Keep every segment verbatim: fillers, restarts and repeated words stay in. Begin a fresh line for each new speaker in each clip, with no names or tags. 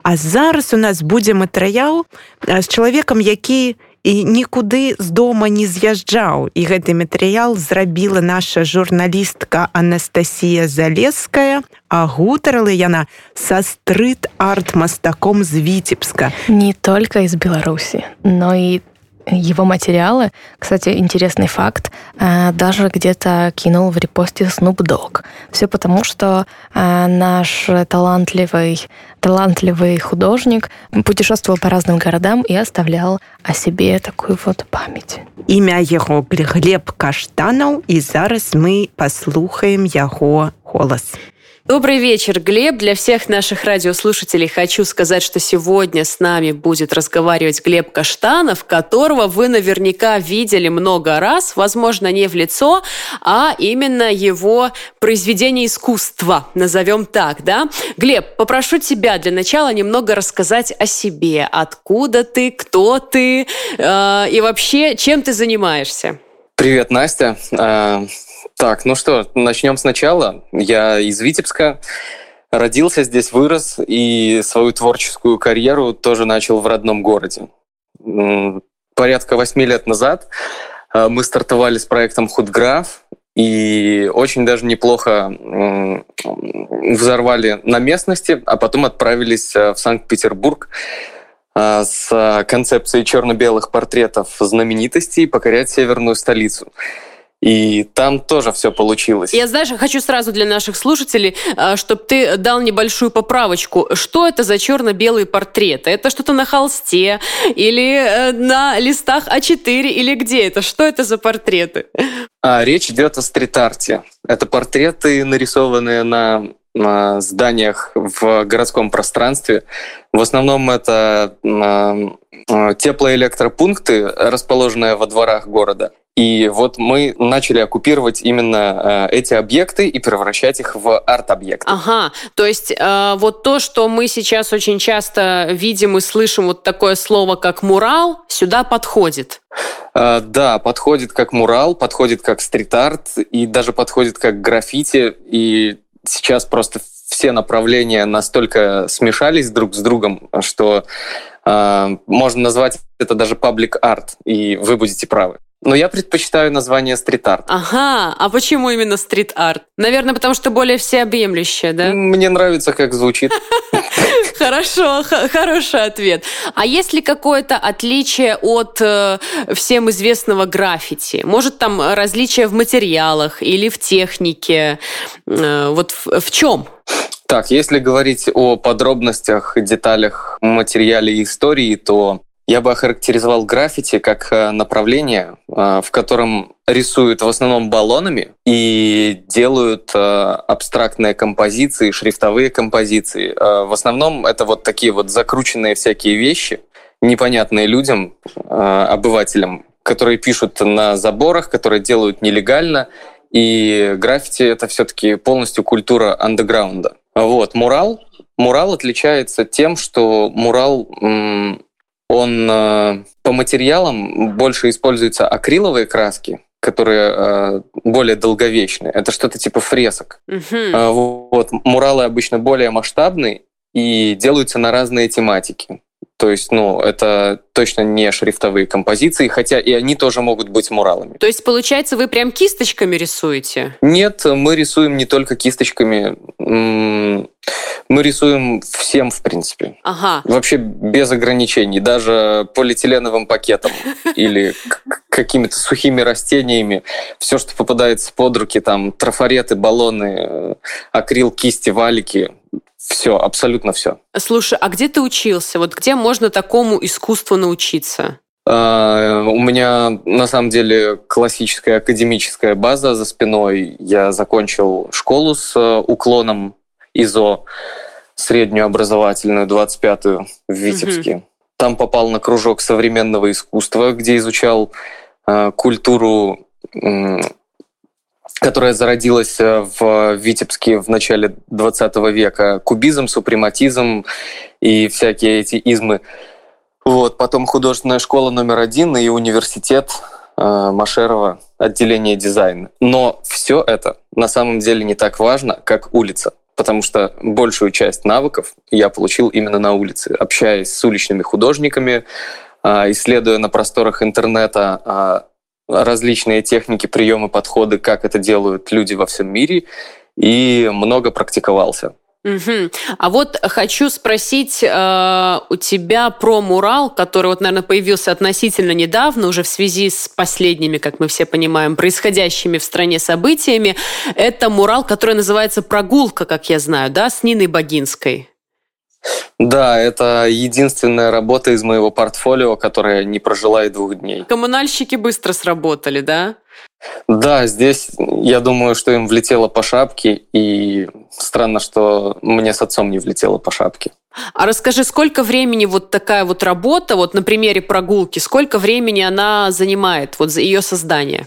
А зараз у нас будзе матэрыял з чалавекам, які і нікуды з дома не з'язджаў. І гэты матэрыял зрабіла наша журналістка Анастасія Залеская, а гутарыла яна са стрит-арт-мастаком з Витебска.
Не только из Беларуси, но и его материалы, кстати, интересный факт, даже где-то кинул в репосте Snoop Dogg. Все потому, что наш талантливый, талантливый художник путешествовал по разным городам и оставлял о себе такую вот память.
Імя яго Глеб Каштанаў, и зараз мы послухаем яго голос.
Добрый вечер, Глеб. Для всех наших радиослушателей хочу сказать, что сегодня с нами будет разговаривать Глеб Каштанов, которого вы наверняка видели много раз, возможно, не в лицо, а именно его произведение искусства, назовем так, да? Глеб, попрошу тебя для начала немного рассказать о себе. Откуда ты, кто ты э, и вообще, чем ты занимаешься?
Привет, Настя. Так, ну что, начнем сначала. Я из Витебска, родился здесь, вырос, и свою творческую карьеру тоже начал в родном городе. Порядка восьми лет назад мы стартовали с проектом «Худграф», и очень даже неплохо взорвали на местности, а потом отправились в Санкт-Петербург с концепцией черно-белых портретов знаменитостей покорять северную столицу. И там тоже все получилось.
Я, знаешь, хочу сразу для наших слушателей, чтобы ты дал небольшую поправочку. Что это за черно-белые портреты? Это что-то на холсте или на листах а четыре или где это? Что это за портреты?
А, речь идет о стрит-арте. Это портреты, нарисованные на, на зданиях в городском пространстве. В основном это теплоэлектропункты, расположенные во дворах города. И вот мы начали оккупировать именно э, эти объекты и превращать их в арт-объекты.
Ага, то есть э, вот то, что мы сейчас очень часто видим и слышим, вот такое слово, как мурал, сюда подходит.
Э, да, подходит как мурал, подходит как стрит-арт и даже подходит как граффити. И сейчас просто все направления настолько смешались друг с другом, что э, можно назвать это даже паблик-арт, и вы будете правы. Но я предпочитаю название стрит-арт.
Ага, а почему именно стрит-арт? Наверное, потому что более всеобъемлющее, да?
Мне нравится, как звучит.
Хорошо, хороший ответ. А есть ли какое-то отличие от э, всем известного граффити? Может, там различия в материалах или в технике? Э, вот в, в чем?
Так, если говорить о подробностях, деталях, материале и истории, то я бы охарактеризовал граффити как направление, в котором рисуют в основном баллонами и делают абстрактные композиции, шрифтовые композиции. В основном это вот такие вот закрученные всякие вещи, непонятные людям, обывателям, которые пишут на заборах, которые делают нелегально. И граффити — это все-таки полностью культура андеграунда. Вот, мурал. Мурал отличается тем, что мурал... Он э, по материалам больше используются акриловые краски, которые э, более долговечные. Это что-то типа фресок. Uh-huh. Э, вот. Муралы обычно более масштабные и делаются на разные тематики. То есть, ну, это точно не шрифтовые композиции, хотя и они тоже могут быть муралами.
То есть, получается, вы прям кисточками рисуете?
Нет, мы рисуем не только кисточками. Мы рисуем всем, в принципе.
Ага.
Вообще без ограничений. Даже полиэтиленовым пакетом или какими-то сухими растениями. Все, что попадается под руки, там трафареты, баллоны, акрил, кисти, валики. Все, абсолютно все.
Слушай, а где ты учился? Вот где можно такому искусству научиться?
Uh, у меня, на самом деле, классическая академическая база за спиной. Я закончил школу с уклоном ИЗО, среднюю образовательную, двадцать пятую в Витебске. Uh-huh. Там попал на кружок современного искусства, где изучал uh, культуру... Uh, которая зародилась в Витебске в начале двадцатого века. Кубизм, супрематизм и всякие эти измы. Вот. Потом художественная школа номер один и университет э, Машерова, отделение дизайна. Но все это на самом деле не так важно, как улица. потому что большую часть навыков я получил именно на улице, общаясь с уличными художниками, исследуя на просторах интернета различные техники, приемы, подходы, как это делают люди во всем мире, и много практиковался.
Угу. А вот хочу спросить э, у тебя про мурал, который, вот, наверное, появился относительно недавно, уже в связи с последними, как мы все понимаем, происходящими в стране событиями. Это мурал, который называется «Прогулка», как я знаю, да, с Ниной Богинской.
Да, это единственная работа из моего портфолио, которая не прожила и двух дней.
Коммунальщики быстро сработали, да?
Да, здесь я думаю, что им влетело по шапке, и странно, что мне с отцом не влетело по шапке.
А расскажи, сколько времени вот такая вот работа, вот на примере прогулки, сколько времени она занимает, вот за ее создание?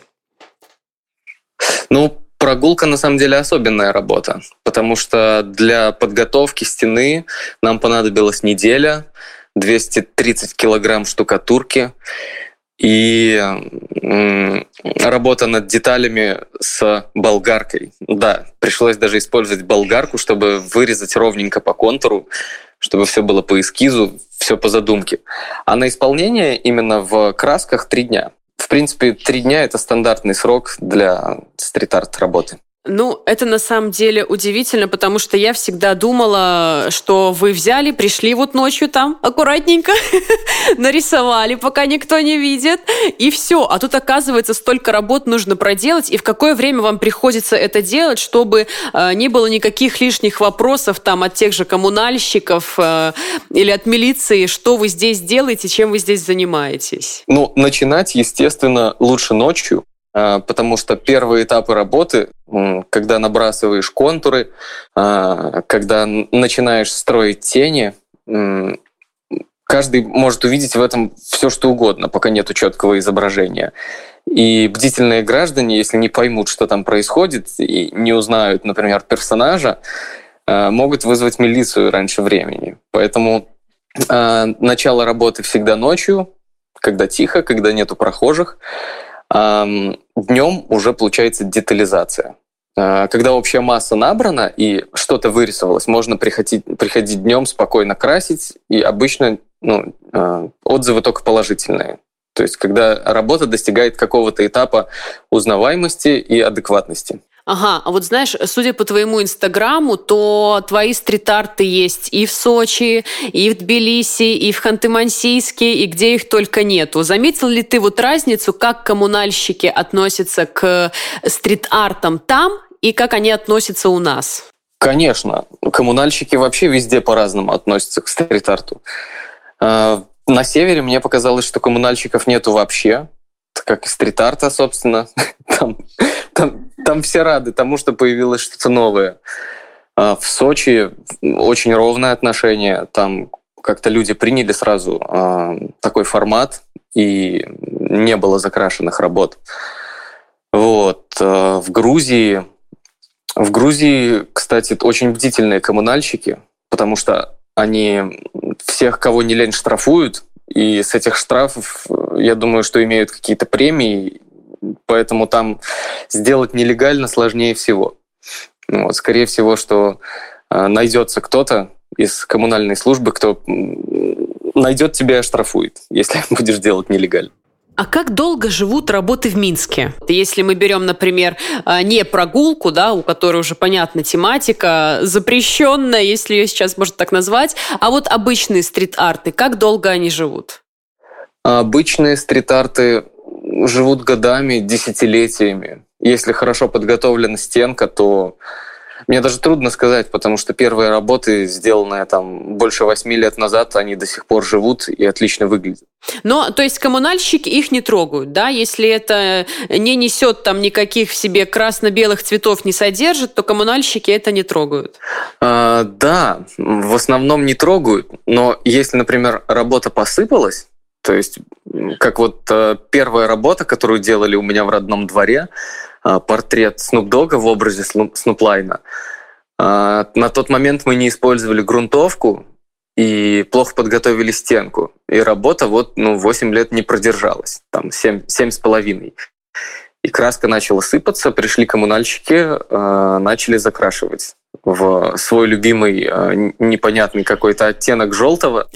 Ну, прогулка на самом деле особенная работа, потому что для подготовки стены нам понадобилась неделя, двести тридцать килограмм штукатурки, и работа над деталями с болгаркой. Да, пришлось даже использовать болгарку, чтобы вырезать ровненько по контуру, чтобы все было по эскизу, все по задумке. А на исполнение именно в красках три дня. В принципе, три дня — это стандартный срок для стрит-арт работы.
Ну, это на самом деле удивительно, потому что я всегда думала, что вы взяли, пришли вот ночью там, аккуратненько нарисовали, пока никто не видит, и все. А тут, оказывается, столько работ нужно проделать, и в какое время вам приходится это делать, чтобы э, не было никаких лишних вопросов там от тех же коммунальщиков э, или от милиции, что вы здесь делаете, чем вы здесь занимаетесь?
Ну, начинать, естественно, лучше ночью, потому что первые этапы работы, когда набрасываешь контуры, когда начинаешь строить тени, каждый может увидеть в этом все, что угодно, пока нету четкого изображения. И бдительные граждане, если не поймут, что там происходит, и не узнают, например, персонажа, могут вызвать милицию раньше времени. Поэтому начало работы всегда ночью, когда тихо, когда нету прохожих. Днем уже получается детализация. Когда общая масса набрана и что-то вырисовалось, можно приходить, приходить днем спокойно красить, и обычно ну, отзывы только положительные. То есть когда работа достигает какого-то этапа узнаваемости и адекватности.
Ага, а вот знаешь, судя по твоему инстаграму, то твои стрит-арты есть и в Сочи, и в Тбилиси, и в Ханты-Мансийске, и где их только нету. Заметил ли ты вот разницу, как коммунальщики относятся к стрит-артам там и как они относятся у нас?
Конечно. Коммунальщики вообще везде по-разному относятся к стрит-арту. На севере мне показалось, что коммунальщиков нету вообще, как и стрит-арта, собственно. Там, там, там все рады тому, что появилось что-то новое. В Сочи очень ровное отношение. Там как-то люди приняли сразу такой формат, и не было закрашенных работ. Вот. В Грузии, в Грузии, кстати, очень бдительные коммунальщики, потому что они всех, кого не лень, штрафуют, и с этих штрафов, я думаю, что имеют какие-то премии, поэтому там сделать нелегально сложнее всего. Вот, скорее всего, что э, найдется кто-то из коммунальной службы, кто найдет тебя и оштрафует, если будешь делать нелегально.
А как долго живут работы в Минске? Если мы берем, например, не прогулку, да, у которой уже понятна тематика, запрещенная, если ее сейчас можно так назвать, а вот обычные стрит-арты, как долго они живут?
Обычные стрит-арты живут годами, десятилетиями. Если хорошо подготовлена стенка, то мне даже трудно сказать, потому что первые работы, сделанные там больше восьми лет назад, они до сих пор живут и отлично выглядят.
Но, то есть коммунальщики их не трогают, да? Если это не несет там никаких в себе красно-белых цветов, не содержит, то коммунальщики это не трогают?
А, да, в основном не трогают, но если, например, работа посыпалась, то есть как вот первая работа, которую делали у меня в родном дворе, портрет Снуп Догга в образе Снуп Лайна. На тот момент мы не использовали грунтовку и плохо подготовили стенку. И работа вот, ну, восемь лет не продержалась, там семь, семь с половиной. И краска начала сыпаться, пришли коммунальщики, начали закрашивать. в свой любимый непонятный какой-то оттенок желтого.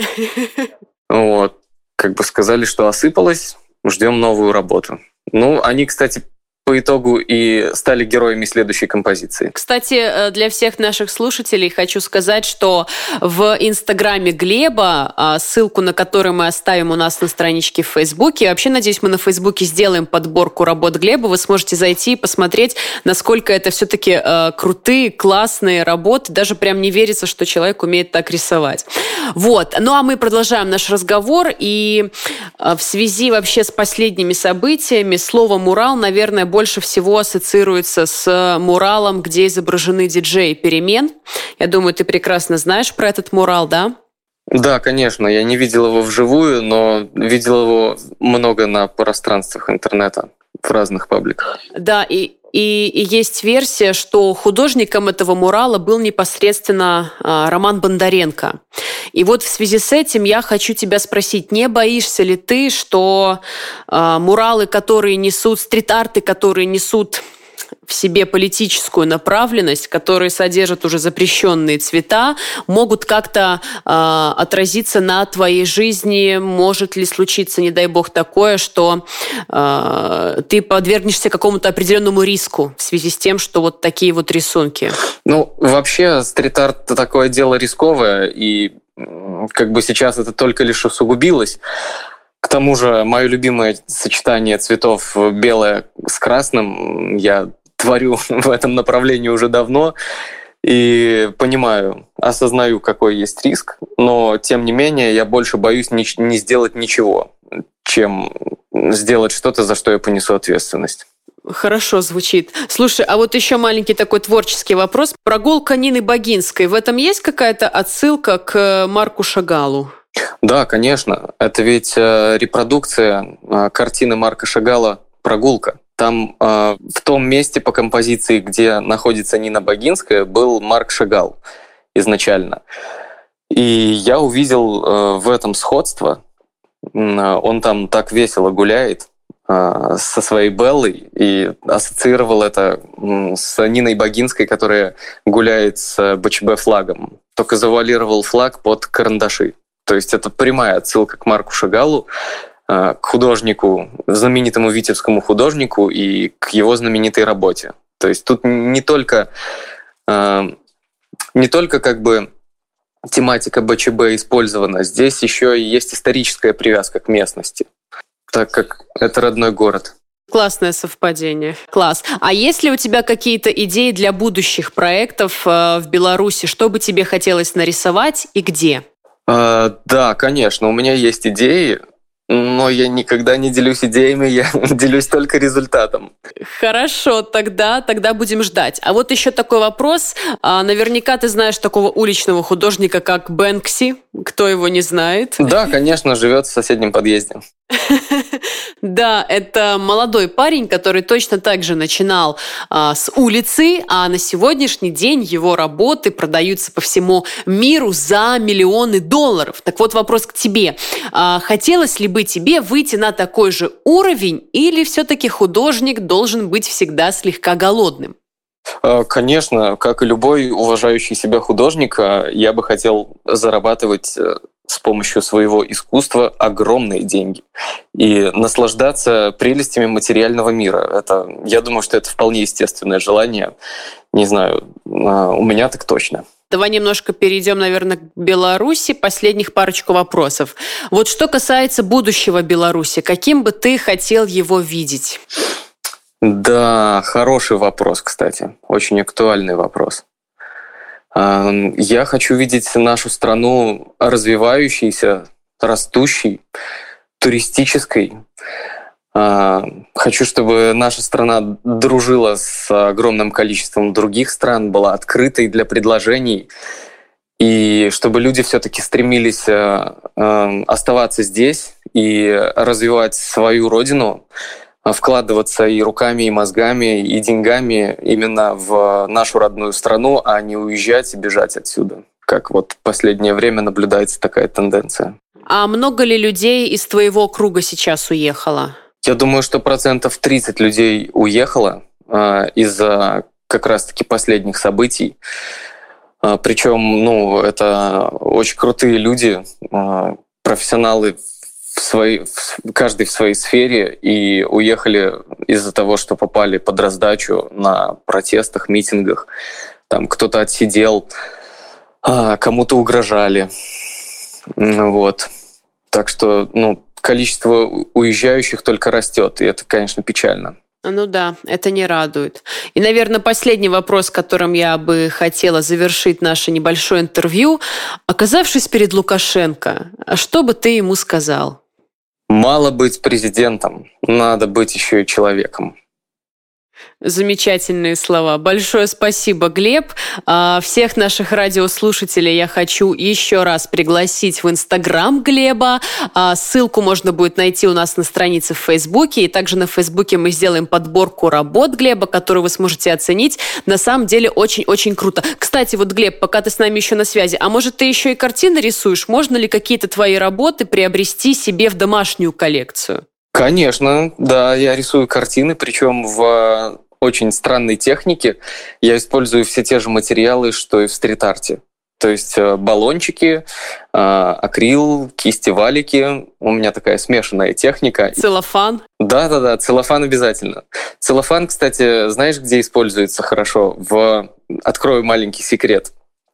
Вот. Как бы сказали, что осыпалось, ждем новую работу. Ну, они, кстати, по итогу и стали героями следующей композиции.
Кстати, для всех наших слушателей хочу сказать, что в инстаграме Глеба, ссылку на который мы оставим у нас на страничке в Фейсбуке, вообще, надеюсь, мы на Фейсбуке сделаем подборку работ Глеба, вы сможете зайти и посмотреть, насколько это все-таки э, крутые, классные работы, даже прям не верится, что человек умеет так рисовать. Вот. Ну, а мы продолжаем наш разговор, и э, в связи вообще с последними событиями слово «мурал», наверное, больше всего ассоциируется с муралом, где изображены диджеи перемен. Я думаю, ты прекрасно знаешь про этот мурал, да?
Да, конечно. Я не видел его вживую, но видел его много на пространствах интернета, в разных пабликах.
Да, и И, и есть версия, что художником этого мурала был непосредственно а, Роман Бондаренко. И вот в связи с этим я хочу тебя спросить, не боишься ли ты, что а, муралы, которые несут, стрит-арты, которые несут в себе политическую направленность, которые содержат уже запрещенные цвета, могут как-то э, отразиться на твоей жизни? Может ли случиться, не дай бог, такое, что э, ты подвергнешься какому-то определенному риску в связи с тем, что вот такие вот рисунки?
Ну, вообще, стрит-арт – такое дело рисковое, и как бы сейчас это только лишь усугубилось. К тому же, мое любимое сочетание цветов белое с красным я творю в этом направлении уже давно и понимаю, осознаю, какой есть риск, но тем не менее я больше боюсь не, не сделать ничего, чем сделать что-то, за что я понесу ответственность.
Хорошо звучит. Слушай, а вот еще маленький такой творческий вопрос. Прогулка Нины Богинской. В этом есть какая-то отсылка к Марку Шагалу?
Да, конечно. Это ведь репродукция картины Марка Шагала «Прогулка». Там э, в том месте по композиции, где находится Нина Богинская, был Марк Шагал изначально. И я увидел э, в этом сходство. Он там так весело гуляет э, со своей Беллой и ассоциировал это с Ниной Богинской, которая гуляет с БЧБ-флагом. Только завуалировал флаг под карандаши. То есть это прямая отсылка к Марку Шагалу, к художнику, знаменитому витебскому художнику и к его знаменитой работе. То есть тут не только, не только как бы тематика БЧБ использована, здесь еще и есть историческая привязка к местности, так как это родной город.
Классное совпадение. Класс. А есть ли у тебя какие-то идеи для будущих проектов в Беларуси? Что бы тебе хотелось нарисовать и где?
Да, конечно, у меня есть идеи, но я никогда не делюсь идеями, я делюсь только результатом.
Хорошо, тогда, тогда будем ждать. А вот еще такой вопрос. А, наверняка ты знаешь такого уличного художника, как Бэнкси. Кто его не знает?
Да, конечно, живет в соседнем подъезде.
Да, это молодой парень, который точно так же начинал а, с улицы, а на сегодняшний день его работы продаются по всему миру за миллионы долларов. Так вот, вопрос к тебе. А, хотелось ли бы тебе выйти на такой же уровень, или все-таки художник должен быть всегда слегка голодным?
Конечно, как и любой уважающий себя художник, я бы хотел зарабатывать с помощью своего искусства огромные деньги и наслаждаться прелестями материального мира. Это, я думаю, что это вполне естественное желание. Не знаю, у меня так точно.
Давай немножко перейдем, наверное, к Беларуси. Последних парочку вопросов. Вот что касается будущего Беларуси, каким бы ты хотел его видеть?
Да, хороший вопрос, кстати. Очень актуальный вопрос. Я хочу видеть нашу страну развивающейся, растущей, туристической. Хочу, чтобы наша страна дружила с огромным количеством других стран, была открытой для предложений, и чтобы люди все-таки стремились оставаться здесь и развивать свою родину, вкладываться и руками, и мозгами, и деньгами именно в нашу родную страну, а не уезжать и бежать отсюда. Как вот в последнее время наблюдается такая тенденция.
А много ли людей из твоего круга сейчас уехало?
Я думаю, что процентов тридцать людей уехало э, из-за как раз-таки последних событий. Причем, ну, это очень крутые люди, профессионалы в своей, каждый в своей сфере, и уехали из-за того, что попали под раздачу на протестах, митингах. Там кто-то отсидел, кому-то угрожали. Вот. Так что, ну, количество уезжающих только растет, и это, конечно, печально.
Ну да, это не радует. И, наверное, последний вопрос, которым я бы хотела завершить наше небольшое интервью. Оказавшись перед Лукашенко, что бы ты ему сказал?
Мало быть президентом, надо быть еще и человеком.
Замечательные слова. Большое спасибо, Глеб. Всех наших радиослушателей я хочу еще раз пригласить в Инстаграм Глеба. Ссылку можно будет найти у нас на странице в Фейсбуке. И также на Фейсбуке мы сделаем подборку работ Глеба, которую вы сможете оценить. На самом деле очень-очень круто. Кстати, вот, Глеб, пока ты с нами еще на связи, а может, ты еще и картины рисуешь? Можно ли какие-то твои работы приобрести себе в домашнюю коллекцию?
Конечно, да, я рисую картины, причем в очень странной технике. Я использую все те же материалы, что и в стрит-арте. То есть баллончики, акрил, кисти-валики. У меня такая смешанная техника.
Целлофан?
Да-да-да, целлофан обязательно. Целлофан, кстати, знаешь, где используется хорошо? В... Открою маленький секрет.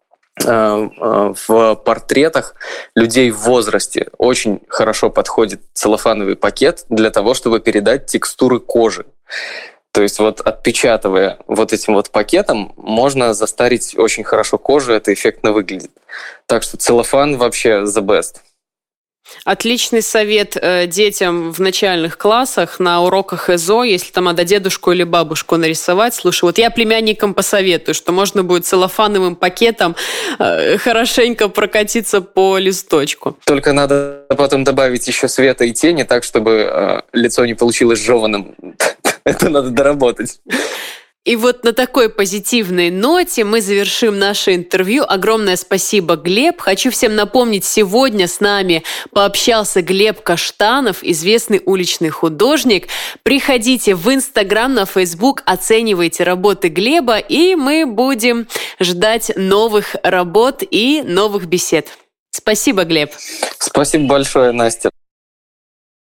В портретах людей в возрасте очень хорошо подходит целлофановый пакет для того, чтобы передать текстуры кожи. То есть вот отпечатывая вот этим вот пакетом, можно застарить очень хорошо кожу, это эффектно выглядит. Так что целлофан вообще the best.
Отличный совет э, детям в начальных классах на уроках ЭЗО, если там надо дедушку или бабушку нарисовать. Слушай, вот я племянникам посоветую, что можно будет целлофановым пакетом э, хорошенько прокатиться по листочку.
Только надо потом добавить еще света и тени, так, чтобы э, лицо не получилось жеваным. Это надо доработать.
И вот на такой позитивной ноте мы завершим наше интервью. Огромное спасибо, Глеб. Хочу всем напомнить, сегодня с нами пообщался Глеб Каштанов, известный уличный художник. Приходите в Инстаграм, на Фейсбук, оценивайте работы Глеба, и мы будем ждать новых работ и новых бесед. Спасибо, Глеб.
Спасибо большое, Настя.